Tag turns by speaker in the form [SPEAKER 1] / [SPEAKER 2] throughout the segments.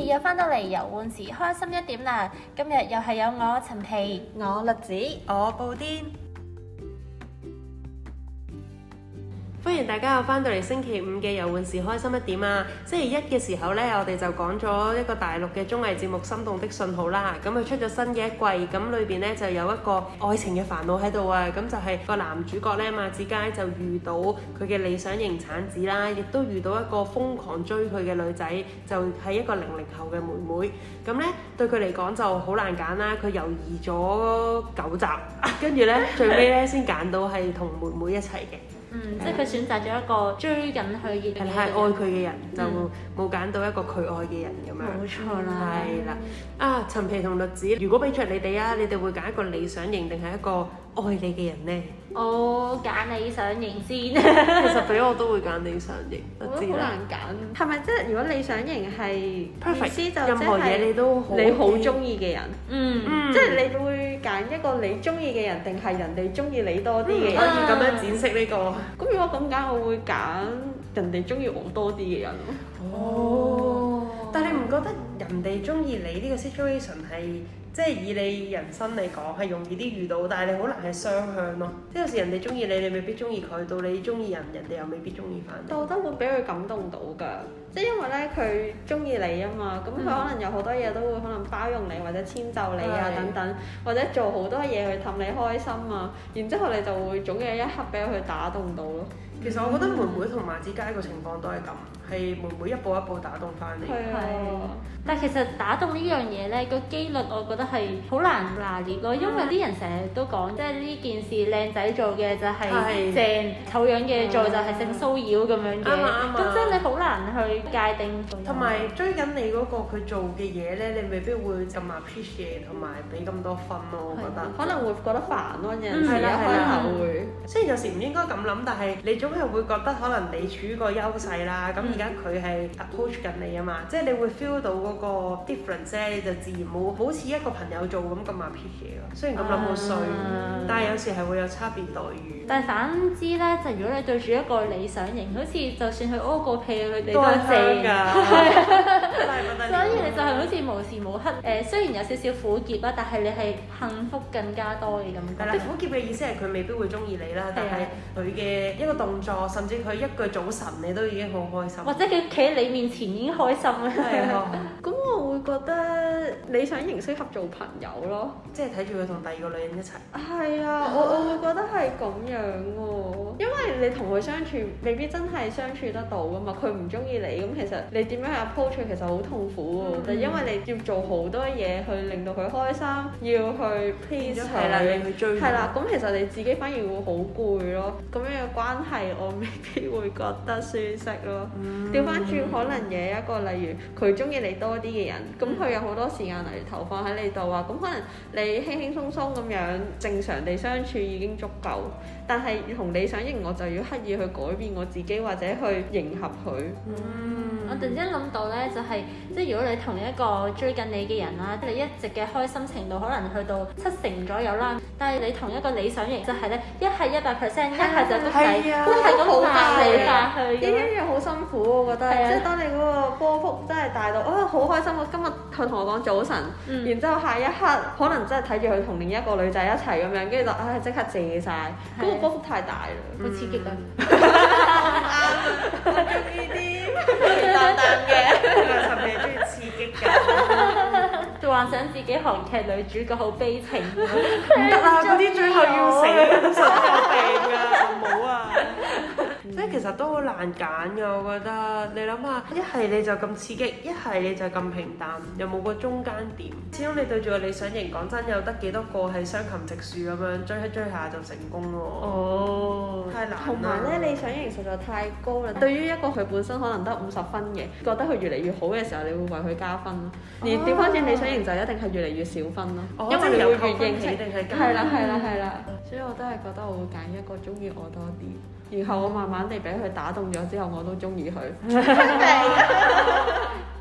[SPEAKER 1] 又翻到嚟遊玩時開心一點啦！今日又係有我陳皮、
[SPEAKER 2] 我栗子、
[SPEAKER 3] 我布甸，歡迎大家又翻到嚟星期五嘅遊玩時開心一點啊！星期一嘅時候呢，我哋就講咗一個大陸嘅綜藝節目《心動的信號》啦。咁佢出咗新嘅一季，咁裏邊呢就有一個愛情嘅煩惱喺度啊！咁就係個男主角呢，馬子佳就遇到佢嘅理想型產子啦，亦都遇到一個瘋狂追佢嘅女仔，就係一個00後嘅妹妹。咁呢對佢嚟講就好難揀啦，佢猶豫咗9集，跟住呢最尾呢先揀到係同妹妹一齊嘅。
[SPEAKER 1] 即係佢選擇咗一個追緊佢嘅人，
[SPEAKER 3] 係愛佢嘅人，就冇揀到一個佢愛嘅人咁樣。
[SPEAKER 1] 冇錯啦，
[SPEAKER 3] 係啦。啊，陳皮同栗子，如果俾着你哋啊，你哋會揀一個理想型定係一個愛你嘅人呢？
[SPEAKER 1] 我揀理想型先。
[SPEAKER 3] 其實俾我都會揀理想型，
[SPEAKER 2] 我覺得好難揀。係咪即係如果理想型係意思就
[SPEAKER 3] 任何嘢你都好
[SPEAKER 2] 你好中意嘅人？
[SPEAKER 1] 即
[SPEAKER 2] 係你會揀一個你中意嘅人，定係人哋中意你多啲嘅人？
[SPEAKER 3] 可以咁樣展示呢個。
[SPEAKER 2] 咁如果咁揀，我會揀人哋中意我多啲嘅人咯。
[SPEAKER 3] 但係你唔覺得人哋中意你呢個 situation 係即係以你人生嚟講係容易啲遇到，但係你好難係雙向咯。即係有時人哋中意你，你未必中意佢；到你中意人，人哋又未必中意翻你。
[SPEAKER 2] 但我覺得會俾佢感動到㗎，即係因為咧佢中意你啊嘛，咁佢可能有好多嘢都會可能包容你或者遷就你啊等等，或者做好多嘢去氹你開心啊，然之後你就會總有一刻俾佢打動到咯。
[SPEAKER 3] 其實我覺得妹妹同馬子佳個情況都係咁，係妹妹一步一步打動翻你。
[SPEAKER 2] 係啊，
[SPEAKER 1] 但係其實打動呢樣嘢咧，個機率我覺得係好難拿捏咯，因為啲人成日都講，即係呢件事靚仔做嘅就係正，醜樣嘅做就係性騷擾咁樣嘅。咁即係你好難去界定。
[SPEAKER 3] 同埋追緊你嗰個佢做嘅嘢咧，你未必會咁 appreciate 同埋俾咁多分咯，我覺得。
[SPEAKER 2] 可能會覺得煩咯，有陣時一開頭會。
[SPEAKER 3] 雖然有時唔應該咁諗，但係你總係會覺得可能你處於個優勢啦。咁而家佢係 approach 緊你啊嘛，即係你會 feel 到嗰個 difference 咧，你就自然冇好似一個朋友做咁 appreciate 咯。雖然咁諗好衰，但係有時係會有差別待遇。
[SPEAKER 1] 但係反之咧，就如果你對住一個理想型，好似就算佢屙個屁，佢哋都
[SPEAKER 3] 係
[SPEAKER 1] 正㗎。
[SPEAKER 3] 係
[SPEAKER 1] 所以你就係好似無時無刻雖然有少少苦澀啦，但係你係幸福更加多嘅感覺。
[SPEAKER 3] 係啦，苦澀嘅意思係佢未必會中意你啦，但係佢嘅一個動作，甚至佢一句早晨，你都已經好開心。
[SPEAKER 1] 或者佢企喺你面前已經開心啦。
[SPEAKER 3] 係啊，
[SPEAKER 2] 咁我會覺得理想型適合做朋友咯，
[SPEAKER 3] 即係睇住佢同第二個女人一齊。
[SPEAKER 2] 係啊，我會覺得係咁樣喎，因為你同佢相處未必真係相處得到噶嘛，佢唔中意你，咁其實你點樣去 approach 佢其實好痛苦喎，就因為你要做好多嘢去令到佢開心，要去 please 佢，
[SPEAKER 3] 你去追。
[SPEAKER 2] 係啦，咁其實你自己反而會好攰咯，咁樣嘅關係我未必會覺得舒適咯。調翻轉可能有一個例如佢中意你多啲嘅人，咁佢有好多時間嚟投放喺你度啊，咁可能你輕輕鬆鬆咁樣正常地相處已經足夠，但係同理想型我就要刻意去改變我自己或者去迎合佢。
[SPEAKER 1] 我突然之間諗到咧，就係即係如果你同一個追緊你嘅人啦，你一直嘅開心程度可能去到70%左右啦，但係你同一個理想型就係咧，一係100%，一係就谷底，都係咁爬嚟爬去。
[SPEAKER 2] 呢一樣好辛苦，我覺得，即係當你嗰個波幅真係大到，好開心！我今日佢同我講早晨，然之後下一刻可能真係睇住佢同另一個女仔一齊咁樣，跟住就即刻謝晒，嗰個波幅太大啦，
[SPEAKER 1] 好刺激啊！
[SPEAKER 2] 我中意啲淡淡嘅，
[SPEAKER 3] 陳皮中意刺激㗎，
[SPEAKER 1] 就幻想自己韓劇女主角好悲情，唔
[SPEAKER 3] 得啊！嗰啲最後要死，通常都有病㗎，唔好啊！即係其實都好難揀㗎，我覺得。你諗下，一係你就咁刺激，一係你就咁平淡，又冇個中間點。始終你對住個理想型，講真有得幾多個係雙琴直樹咁樣追一追下就成功喎。太難啦。
[SPEAKER 2] 同埋咧，理想型實在太高啦。對於一個佢本身可能得50分嘅，覺得佢越嚟越好嘅時候，你會為佢加分咯。而調翻轉理想型就一定係越嚟越少分咯，因為你會越認識。係啦。所以我都係覺得我會揀一個中意我多啲，然後我慢慢地俾佢打動咗之後，我都中意佢。好美滿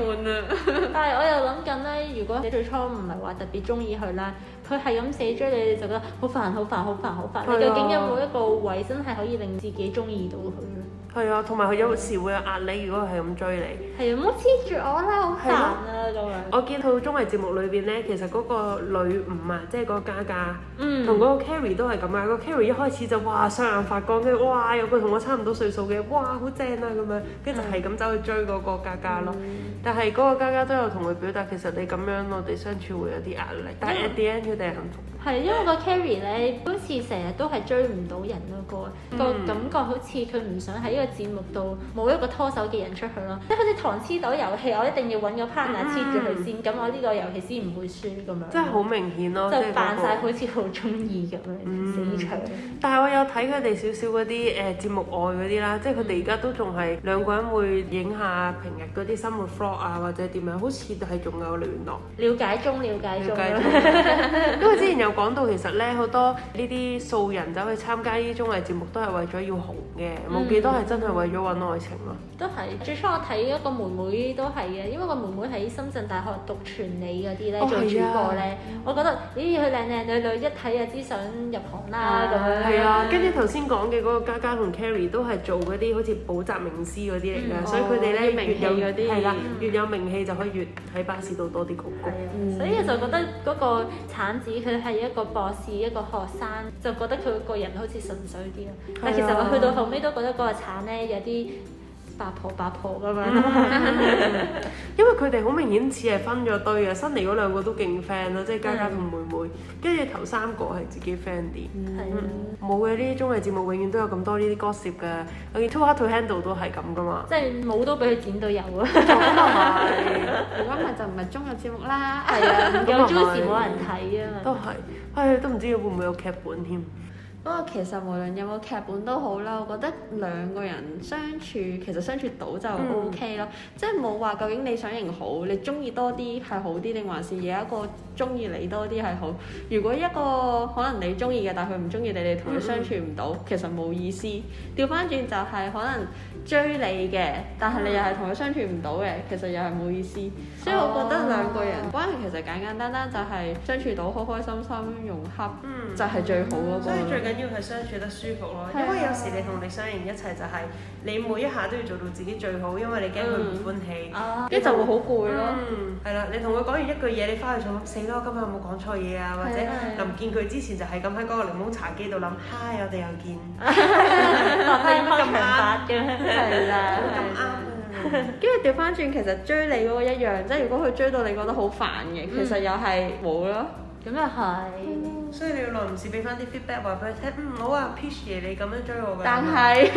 [SPEAKER 2] 悶啊！
[SPEAKER 1] 但係我又諗緊咧，如果你最初唔係話特別中意佢啦，佢係咁死追你，你就覺得好煩、好煩、好煩、好煩。你究竟有冇一個位真係可以令自己中意到佢咧？
[SPEAKER 3] 係啊，同埋佢有時會有壓力，如果佢係咁追你。
[SPEAKER 1] 係啊，唔好黐住我啦，好煩啊咁樣。
[SPEAKER 3] 我見套綜藝節目裏邊咧，其實嗰個女五啊，即係嗰個嘉嘉，同嗰個 Carrie 都係咁啊。個 Carrie 一開始就哇雙眼發光，跟住哇有個同我差唔多歲數嘅，哇好正啊咁樣，跟住就係咁走去追嗰個嘉嘉咯。但係嗰個嘉嘉都有同佢表達，其實你咁樣我哋相處會有啲壓力，但係 at the end 佢哋係幸福。
[SPEAKER 1] 係，因為個 Carrie 咧，好似成日都係追唔到人咯，個感覺好似佢唔想喺呢個節目度冇一個拖手嘅人出去咯，即係好似糖黐豆遊戲，我一定要揾個 partner 黐住佢先，咁我呢個遊戲先唔會輸咁樣。
[SPEAKER 3] 真係好明顯咯，
[SPEAKER 1] 就扮晒好似好中意咁樣死搶。
[SPEAKER 3] 但係我有睇佢哋少少嗰啲節目外嗰啲啦，即係佢哋而家都仲係兩個人會影下平日嗰啲生活 vlog 啊，或者點樣，好似係仲有聯絡。
[SPEAKER 1] 了解中。
[SPEAKER 3] 因為之前有講到，其實咧好多呢啲素人走去參加呢啲綜藝節目，都係為咗要紅嘅，冇幾多係真係為咗揾愛情咯。
[SPEAKER 1] 都係，最初我睇一個妹妹都係嘅，因為個妹妹喺深圳大學讀傳理嗰啲咧，做主播咧，我覺得咦佢靚靚女女，一睇就知想入行啦咁樣。
[SPEAKER 3] 係啊，跟住頭先講嘅嗰個嘉嘉同 Carrie 都係做嗰啲好似補習名師嗰啲嚟㗎，所以佢哋咧越有嗰啲係啦，越有名氣就可以越喺巴士度多啲公公。
[SPEAKER 1] 所以我就覺得嗰個橙子佢係一個博士一個學生，就覺得佢個人好似純粹啲咯。但其實我去到後尾都覺得嗰個橙咧有啲八婆咁樣。
[SPEAKER 3] 因為佢哋好明顯似係分咗堆嘅，新嚟嗰兩個都勁 friend 咯，即係嘉嘉同妹妹，跟住頭三個係自己 friend 啲。冇嘅，呢啲綜藝節目永遠都有咁多呢啲 gossip 嘅。我見 Too Hot to Handle 都係咁噶嘛。
[SPEAKER 1] 即係冇都俾佢剪到有啊！
[SPEAKER 3] 咁啊係，
[SPEAKER 2] 如果唔係就唔係綜藝節目啦。
[SPEAKER 1] 係啊，有 juicy 冇人睇啊嘛。
[SPEAKER 3] 都係，唉，都唔知會唔會有劇本添。
[SPEAKER 2] 不過其實無論有冇劇本都好啦，我覺得兩個人相處其實相處到就 OK 咯，即係冇話究竟理想型好，你中意多啲係好啲，定還是有一個中意你多啲係好？如果一個可能你中意嘅，但係佢唔中意你，你同佢相處唔到，其實冇意思。調翻轉就係可能追你嘅，但係你又係同佢相處唔到嘅，其實又係冇意思。所以我覺得兩個人關係其實簡簡單單就係相處到開開心心融洽，就係最好嗰個。
[SPEAKER 3] 所以最緊要係相處得舒服咯，因為有時你同你相型一齊就係你每一下都要做到自己最好，因為你驚佢唔歡喜，
[SPEAKER 2] 跟住就會好攰咯。
[SPEAKER 3] 係啦，你同佢講完一句嘢，你翻去就諗死啦，我今日有冇講錯嘢啊？或者臨見佢之前就係咁喺嗰個檸檬茶機度諗，嗨，我哋又見，
[SPEAKER 1] 開場白嘅，係啦，
[SPEAKER 3] 咁啱。
[SPEAKER 2] 跟住調翻轉，其實追你嗰個一樣，即係如果佢追到你覺得好煩嘅，其實又係冇咯。
[SPEAKER 1] 咁又係。
[SPEAKER 3] 所以你要耐唔時俾翻啲 feedback 話俾佢聽，好啊 Peach 爺你咁樣追我㗎。
[SPEAKER 2] 但係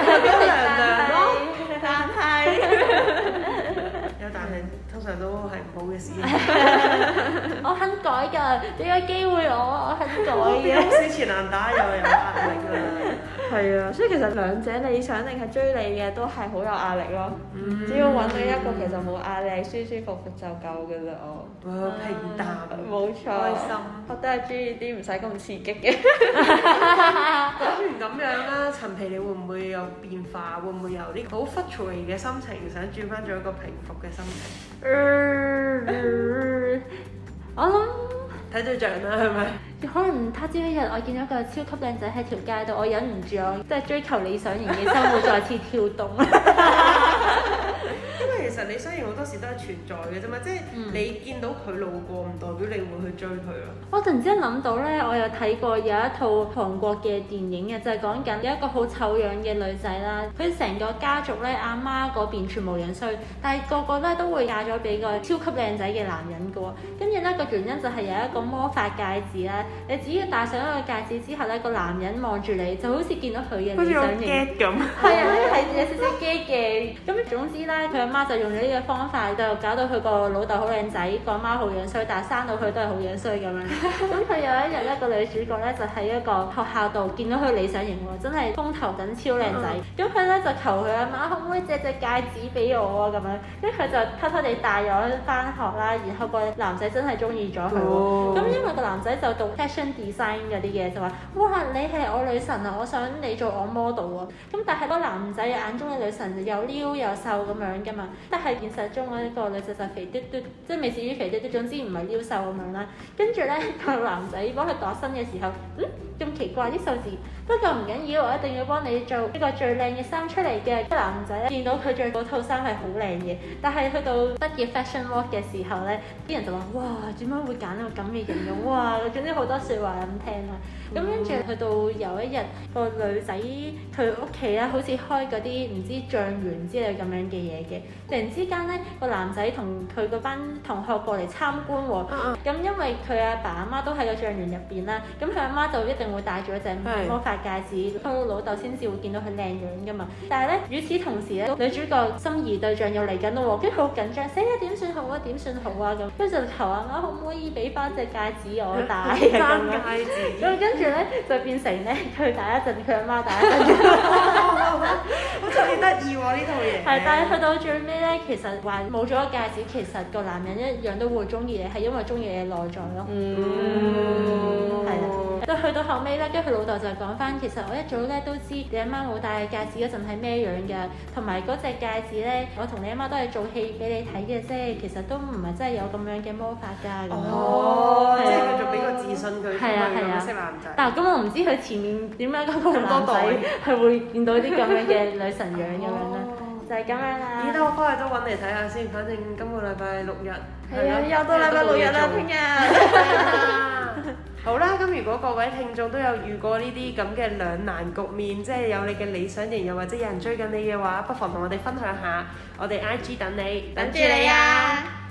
[SPEAKER 3] 有但係通常都係唔好嘅事。
[SPEAKER 1] 我肯改㗎，俾個機會我肯改嘅。
[SPEAKER 3] 好死纏爛打又有壓力㗎。
[SPEAKER 2] 係啊，所以其實兩者理想定係追你嘅都係好有壓力咯。只要揾到一個其實冇壓力、舒舒服服就夠㗎啦。我
[SPEAKER 3] 平淡，
[SPEAKER 2] 冇錯，
[SPEAKER 3] 開心。
[SPEAKER 2] 我都係中意啲唔使咁刺激嘅。
[SPEAKER 3] 講完咁樣啦，陳皮你會唔會有變化？會唔會由呢個好 frustrated 嘅心情，想轉翻做一個平復嘅心情？
[SPEAKER 1] 我諗
[SPEAKER 3] 睇對象啦，係咪？
[SPEAKER 1] 可能他朝一日我見到一個超級靚仔喺條街度，我忍唔住我即係追求理想型嘅生活再次跳動。
[SPEAKER 3] 因為其實理想型好多時都係存在嘅啫嘛，即係你見到佢路過，唔代表你會去追佢咯。
[SPEAKER 1] 我突然之間諗到咧，我有睇過有一套韓國嘅電影嘅，就係講緊有一個好醜樣嘅女仔啦，佢成個家族咧阿媽嗰邊全部樣衰，但係個個咧都會嫁咗俾個超級靚仔嘅男人嘅喎。跟住咧個原因就係有一個魔法戒指啦，你只要戴上一個戒指之後咧，個男人望住你就好似見到佢嘅理想型。
[SPEAKER 3] 咁。
[SPEAKER 1] 係啊，係有少少驚嘅。咁總之咧，佢阿媽就用咗呢個方法，就搞到佢個老豆好靚仔，個阿媽好樣衰，但係生到佢都係好樣衰咁樣。咁佢有一日咧，個女主角咧就喺一個學校度見到佢理想型喎，真係風頭緊超靚仔。咁佢咧就求佢阿媽可唔可以借隻戒指俾我啊咁樣。跟住佢就偷偷地帶咗翻學啦，然後個男仔真係中意咗佢喎。咁因為個男仔就讀 fashion design 嗰啲嘢，就話哇你係我女神啊，我想你做我 model 啊。咁但係個男仔眼中嘅女神又撩又瘦咁樣樣㗎嘛。但係現實中呢個女仔就肥嘟嘟，即係未至於肥嘟嘟，總之唔係撩瘦咁樣啦。跟住咧個男仔幫佢度身嘅時候，咁奇怪啲數字，不過唔緊要，我一定要幫你做一個最靚嘅衫出嚟嘅。男仔咧見到佢着嗰套衫係好靚嘅，但係去到畢業 fashion walk 嘅時候咧，啲人就話：哇，點解會揀到咁嘅形容？哇，總之好多説話咁聽啦。咁跟住去到有一日，個女仔佢屋企咧，好似開嗰啲唔知醬園之類咁樣嘅嘢嘅。突然之間咧，個男仔同佢嗰班同學過嚟參觀喎。咁因為佢阿爸阿媽都喺個醬園入邊啦，咁佢阿媽就一定會戴住一隻魔法戒指，佢老豆先至會見到佢靚樣噶嘛。但係咧，與此同時咧，女主角心儀對象又嚟緊咯喎，跟住好緊張，死啦點算好啊？點算好啊？咁跟住就求阿媽可唔可以俾翻隻戒指我戴啊？咁樣。咁跟住咧就變成咧佢戴一陣，佢阿媽戴一陣。
[SPEAKER 3] 好似幾得意喎呢套嘢。
[SPEAKER 1] 係，但係去到最尾咧，其實話冇咗個戒指，其實個男人一樣都會中意你，係因為中意你嘅內在咯。係啦。去到後尾咧，跟住佢老豆就講翻，其實我一早咧都知你阿媽冇戴戒指嗰陣係咩樣㗎，同埋嗰隻戒指咧，我同你阿媽都係做戲俾你睇嘅啫，其實都唔係真係有咁樣嘅魔法㗎。
[SPEAKER 3] 即係佢仲俾個自信佢，佢識男仔。
[SPEAKER 1] 但係咁我唔知佢前面點解嗰個男仔係會見到啲咁樣嘅女神樣咁樣咧，就係咁樣啦。
[SPEAKER 3] 咦？等我翻去都揾嚟睇下先，反正今個禮拜六日。
[SPEAKER 2] 係啊，又到禮拜六日啦，聽日。
[SPEAKER 3] 好啦，咁如果各位聽眾都有遇過呢啲咁嘅兩難局面，即係有你嘅理想型，又或者有人追緊你嘅話，不妨同我哋分享下，我哋 IG 等你，
[SPEAKER 2] 等住你啊！